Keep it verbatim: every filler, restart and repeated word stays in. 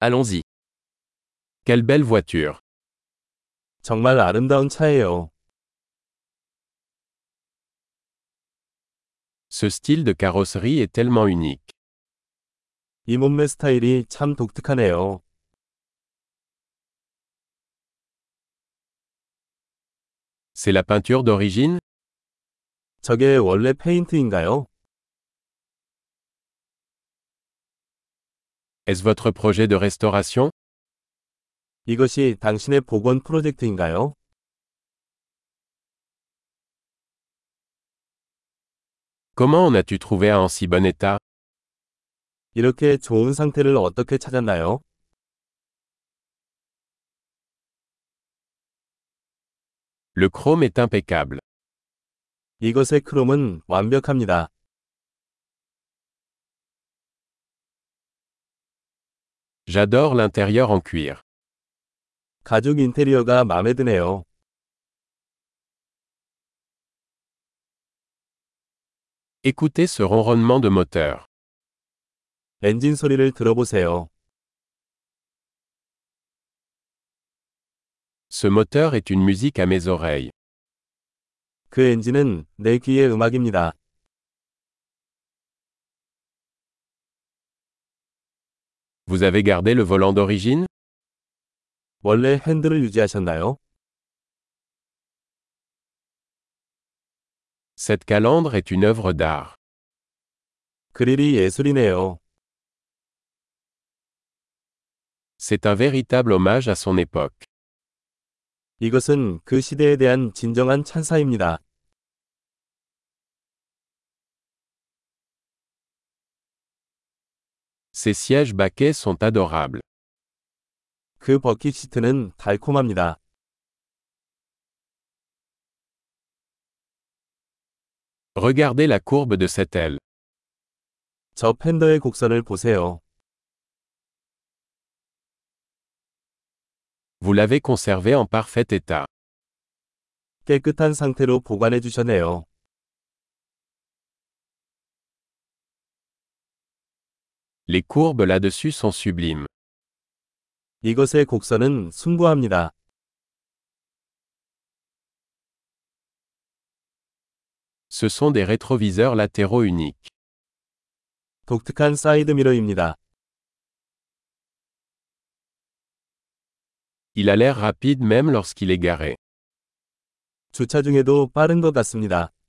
Allons-y. Quelle belle voiture. 정말 아름다운 차예요. Ce style de carrosserie est tellement unique. 이 몸매 스타일이 참 독특하네요. C'est la peinture d'origine? 저게 원래 페인트인가요? Est-ce votre projet de restauration? 이것이 당신의 복원 프로젝트인가요? Comment en as-tu trouvé un en si bon état? 이렇게 좋은 상태를 어떻게 찾았나요? Le chrome est impeccable. 이것의 크롬은 완벽합니다. J'adore l'intérieur en cuir. 가죽 인테리어가 마음에 드네요. Écoutez ce ronronnement de moteur. 엔진 소리를 들어보세요. Ce moteur est une musique à mes oreilles. 그 엔진은 내 귀의 음악입니다. Vous avez gardé le volant d'origine? 원래 핸들을 유지하셨나요? Cette calandre est une œuvre d'art. 그릴이 예술이네요. C'est un véritable hommage à son époque. 이것은 그 시대에 대한 진정한 찬사입니다. Ces sièges baquets sont adorables. 그 버킷 시트는 달콤합니다. Regardez la courbe de cette aile. 저 팬더의 곡선을 보세요. Vous l'avez conservé en parfait état. 깨끗한 상태로 보관해 주셨네요. Les courbes là-dessus sont sublimes. 이것의 곡선은 숭고합니다. Ce sont des rétroviseurs latéraux uniques. 독특한 사이드 미러입니다. Il a l'air rapide même lorsqu'il est garé. 주차 중에도 빠른 것 같습니다.